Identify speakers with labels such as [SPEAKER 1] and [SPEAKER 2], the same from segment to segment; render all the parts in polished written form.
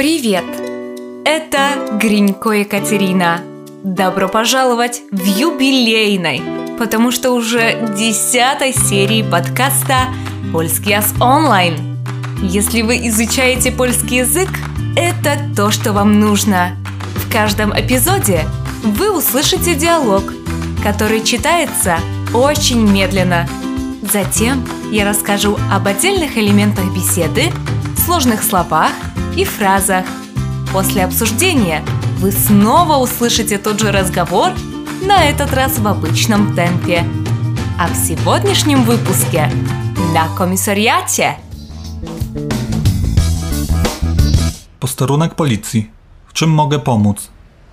[SPEAKER 1] Привет! Это Гринько Екатерина. Добро пожаловать в юбилейной, потому что уже 10-й серии подкаста «Польский ас онлайн». Если вы изучаете польский язык, это то, что вам нужно. В каждом эпизоде вы услышите диалог, который читается очень медленно. Затем я расскажу об отдельных элементах беседы, сложных словах и фразах. После обсуждения вы снова услышите тот же разговор, на этот раз в обычном темпе. А в сегодняшнем выпуске на комисariacie.
[SPEAKER 2] Posterunek policji. W czym mogę pomóc?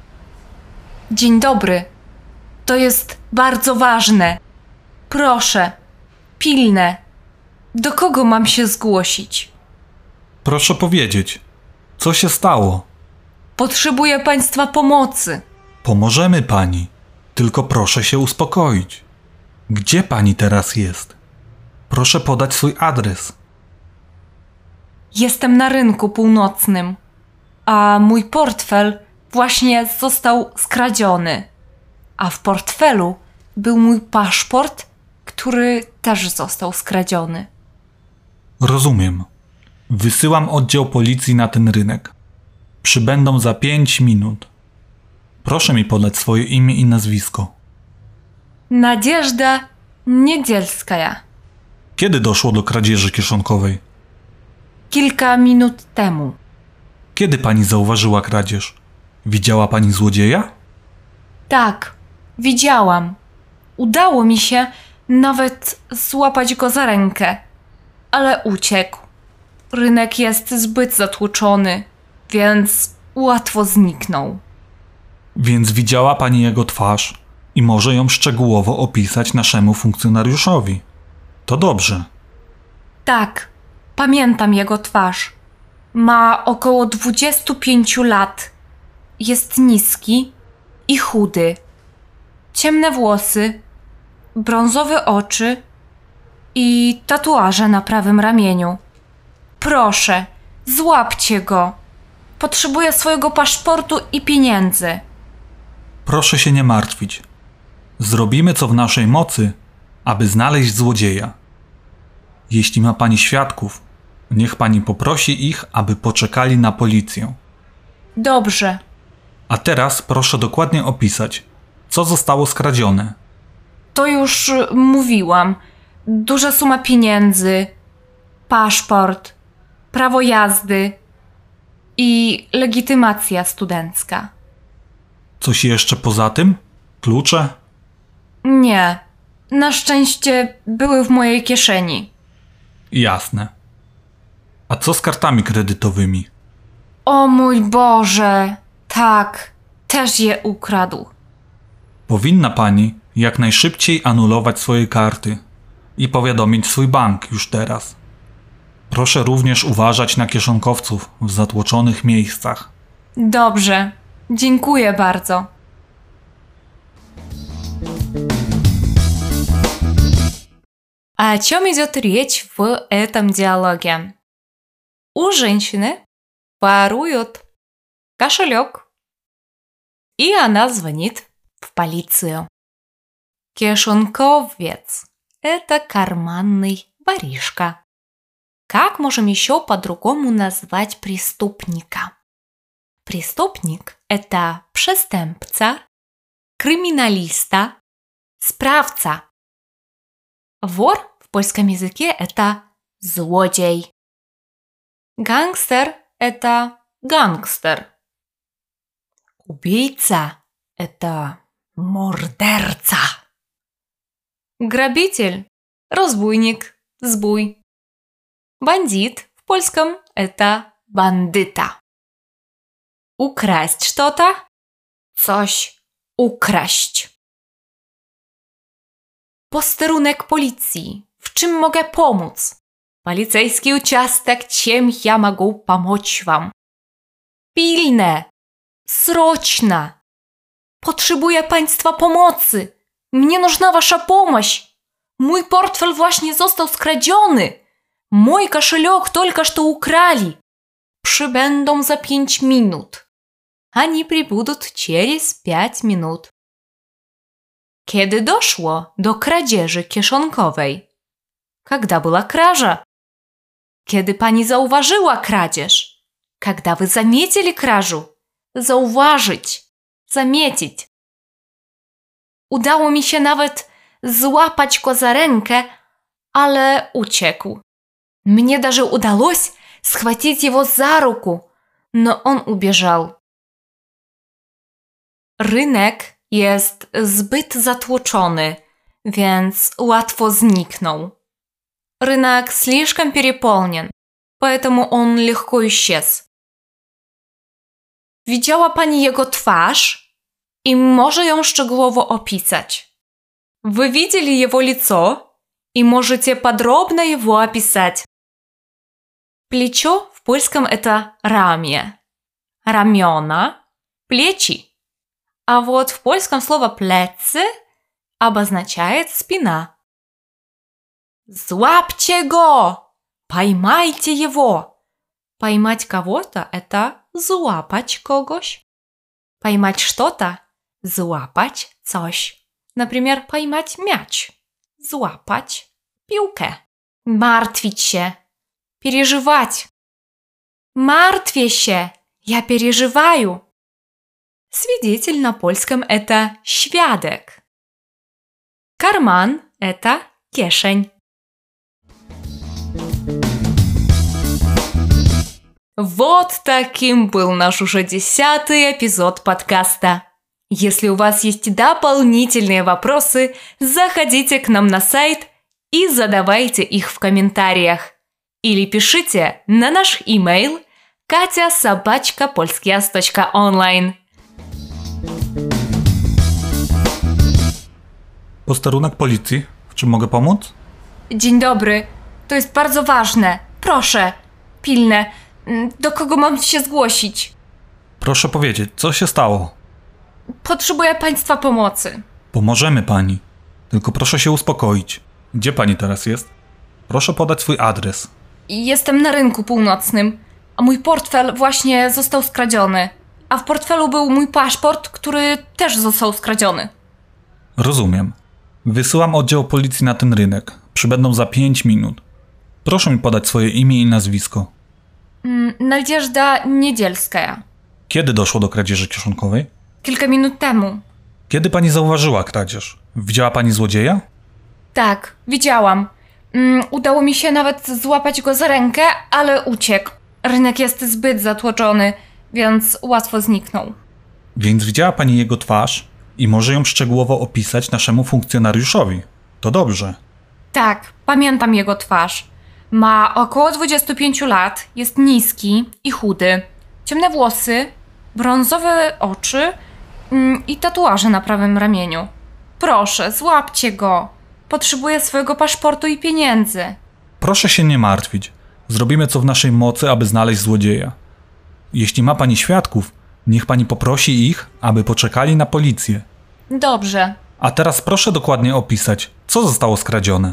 [SPEAKER 1] Dzień dobry. To jest bardzo ważne. Proszę, pilne. Do kogo mam się zgłosić?
[SPEAKER 2] Proszę powiedzieć, co się stało?
[SPEAKER 1] Potrzebuję państwa pomocy.
[SPEAKER 2] Pomożemy pani, tylko proszę się uspokoić. Gdzie pani teraz jest? Proszę podać swój adres.
[SPEAKER 1] Jestem na rynku północnym, a mój portfel właśnie został skradziony. A w portfelu był mój paszport, który też został skradziony.
[SPEAKER 2] Rozumiem. Wysyłam oddział policji na ten rynek. Przybędą za 5 minut. Proszę mi podać swoje imię i nazwisko.
[SPEAKER 1] Nadjeżda Niedzielskaja.
[SPEAKER 2] Kiedy doszło do kradzieży kieszonkowej?
[SPEAKER 1] Kilka minut temu.
[SPEAKER 2] Kiedy pani zauważyła kradzież? Widziała pani złodzieja?
[SPEAKER 1] Tak, widziałam. Udało mi się nawet złapać go za rękę, ale uciekł. Rynek jest zbyt zatłoczony, więc łatwo zniknął.
[SPEAKER 2] Więc widziała pani jego twarz i może ją szczegółowo opisać naszemu funkcjonariuszowi. To dobrze.
[SPEAKER 1] Tak, pamiętam jego twarz. Ma około 25 lat. Jest niski i chudy. Ciemne włosy, brązowe oczy i tatuaże na prawym ramieniu. Proszę, złapcie go. Potrzebuję swojego paszportu i pieniędzy.
[SPEAKER 2] Proszę się nie martwić. Zrobimy co w naszej mocy, aby znaleźć złodzieja. Jeśli ma pani świadków, niech pani poprosi ich, aby poczekali na policję.
[SPEAKER 1] Dobrze.
[SPEAKER 2] A teraz proszę dokładnie opisać, co zostało skradzione.
[SPEAKER 1] To już mówiłam. Duża suma pieniędzy, paszport, prawo jazdy i legitymacja studencka.
[SPEAKER 2] Coś jeszcze poza tym? Klucze?
[SPEAKER 1] Nie. Na szczęście były w mojej kieszeni.
[SPEAKER 2] Jasne. A co z kartami kredytowymi?
[SPEAKER 1] O mój Boże! Tak, też je ukradł.
[SPEAKER 2] Powinna pani jak najszybciej anulować swoje karty i powiadomić swój bank już teraz. Proszę również uważać na kieszonkowców w zatłoczonych miejscach.
[SPEAKER 1] Dobrze. Dziękuję bardzo. О чем идет речь в этом диалоге? У женщины воруют кошелек, и она звонит в полицию. Кишонковец – это карманный воришка. Как можем еще по-другому назвать преступника? Преступник – это przestępca, kryminalista, sprawca. Wor w polskim языке – это złodziej. Gangster – это gangster. Убийца – это morderca. Грабитель – разбойник, zbój. Бандит в польском – это bandyta. Украсть что-то – coś ukraść. Posterunek policji. W czym mogę pomóc? Полицейский участок. Чем я могу помочь вам? Pilne. Срочно. Potrzebuję państwa pomocy. Mnie нужна wasza помощь. Mój portfel właśnie został skradziony. Мой кошелек только что украли. Przybędą za 5 minut. Они прибудут через 5 minut. Kiedy doszło do kradzieży kieszonkowej? Когда была кража? Kiedy pani zauważyła kradzież? Когда вы заметили кражу? Zauważyć, zamiecić. Udało mi się nawet złapać go za rękę, ale uciekł. Мне даже удалось схватить его за руку, но он убежал. Rynek jest zbyt zatłoczony, więc łatwo zniknął. Рынок слишком переполнен, поэтому он легко исчез. Widziała pani jego twarz i może ją szczegółowo opisać. Вы видели его лицо и можете подробно его описать. Плечо в польском это ramię, ramiona, плечи. А вот в польском слово plecy обозначает спина. Зłapcie go! Поймайте его! Поймать кого-то – это зłapać kogoś. Поймать что-то – зłapać coś. Например, поймать мяч. Złapać piłkę. Martwić się. Переживать. Martwię się. Я переживаю. Свидетель на польском – это świadek. Карман – это kieszeń. Вот таким был наш уже 10-й эпизод подкаста. Если у вас есть дополнительные вопросы, заходите к нам на сайт и задавайте их в комментариях. Или пишите на наш имейл katia@polskias.online.
[SPEAKER 2] Posterunek policji. W czym mogę pomóc?
[SPEAKER 1] Dzień dobry. To jest bardzo ważne. Proszę. Pilne. Do kogo mam się zgłosić?
[SPEAKER 2] Proszę powiedzieć, co się stało?
[SPEAKER 1] Potrzebuję państwa pomocy.
[SPEAKER 2] Pomożemy pani. Tylko proszę się uspokoić. Gdzie pani teraz jest? Proszę podać swój adres.
[SPEAKER 1] Jestem na rynku północnym, a mój portfel właśnie został skradziony. A w portfelu był mój paszport, który też został skradziony.
[SPEAKER 2] Rozumiem. Wysyłam oddział policji na ten rynek. Przybędą za 5 minut. Proszę mi podać swoje imię i nazwisko.
[SPEAKER 1] Nadjeżda Niedzielska.
[SPEAKER 2] Kiedy doszło do kradzieży kieszonkowej?
[SPEAKER 1] Kilka minut temu.
[SPEAKER 2] Kiedy pani zauważyła kradzież? Widziała pani złodzieja?
[SPEAKER 1] Tak, widziałam. Udało mi się nawet złapać go za rękę, ale uciekł. Rynek jest zbyt zatłoczony, więc łatwo zniknął.
[SPEAKER 2] Więc widziała pani jego twarz i może ją szczegółowo opisać naszemu funkcjonariuszowi. To dobrze.
[SPEAKER 1] Tak, pamiętam jego twarz. Ma około 25 lat, jest niski i chudy. Ciemne włosy, brązowe oczy i tatuaże na prawym ramieniu. Proszę, złapcie go. Potrzebuję swojego paszportu i pieniędzy.
[SPEAKER 2] Proszę się nie martwić. Zrobimy co w naszej mocy, aby znaleźć złodzieja. Jeśli ma pani świadków, niech pani poprosi ich, aby poczekali na policję.
[SPEAKER 1] Dobrze.
[SPEAKER 2] A teraz proszę dokładnie opisać, co zostało skradzione.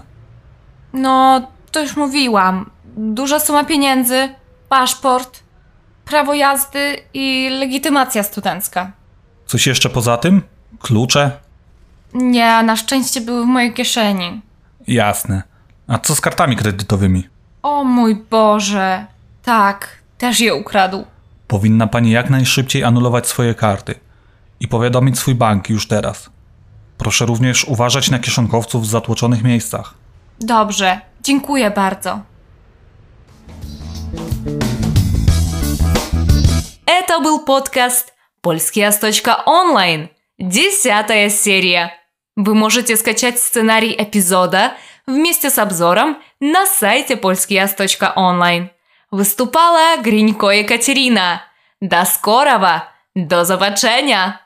[SPEAKER 1] No, to już mówiłam. Duża suma pieniędzy, paszport, prawo jazdy i legitymacja studencka.
[SPEAKER 2] Coś jeszcze poza tym? Klucze?
[SPEAKER 1] Nie, na szczęście były w mojej kieszeni.
[SPEAKER 2] Jasne. A co z kartami kredytowymi?
[SPEAKER 1] O mój Boże. Tak, też je ukradł.
[SPEAKER 2] Powinna pani jak najszybciej anulować swoje karty i powiadomić swój bank już teraz. Proszę również uważać na kieszonkowców w zatłoczonych miejscach.
[SPEAKER 1] Dobrze, dziękuję bardzo. Это был подкаст polskias.online, 10-я серия. Вы можете скачать сценарий эпизода вместе с обзором на сайте polskias.online. Выступала Гринько Екатерина. До скорого! До zobaczenia!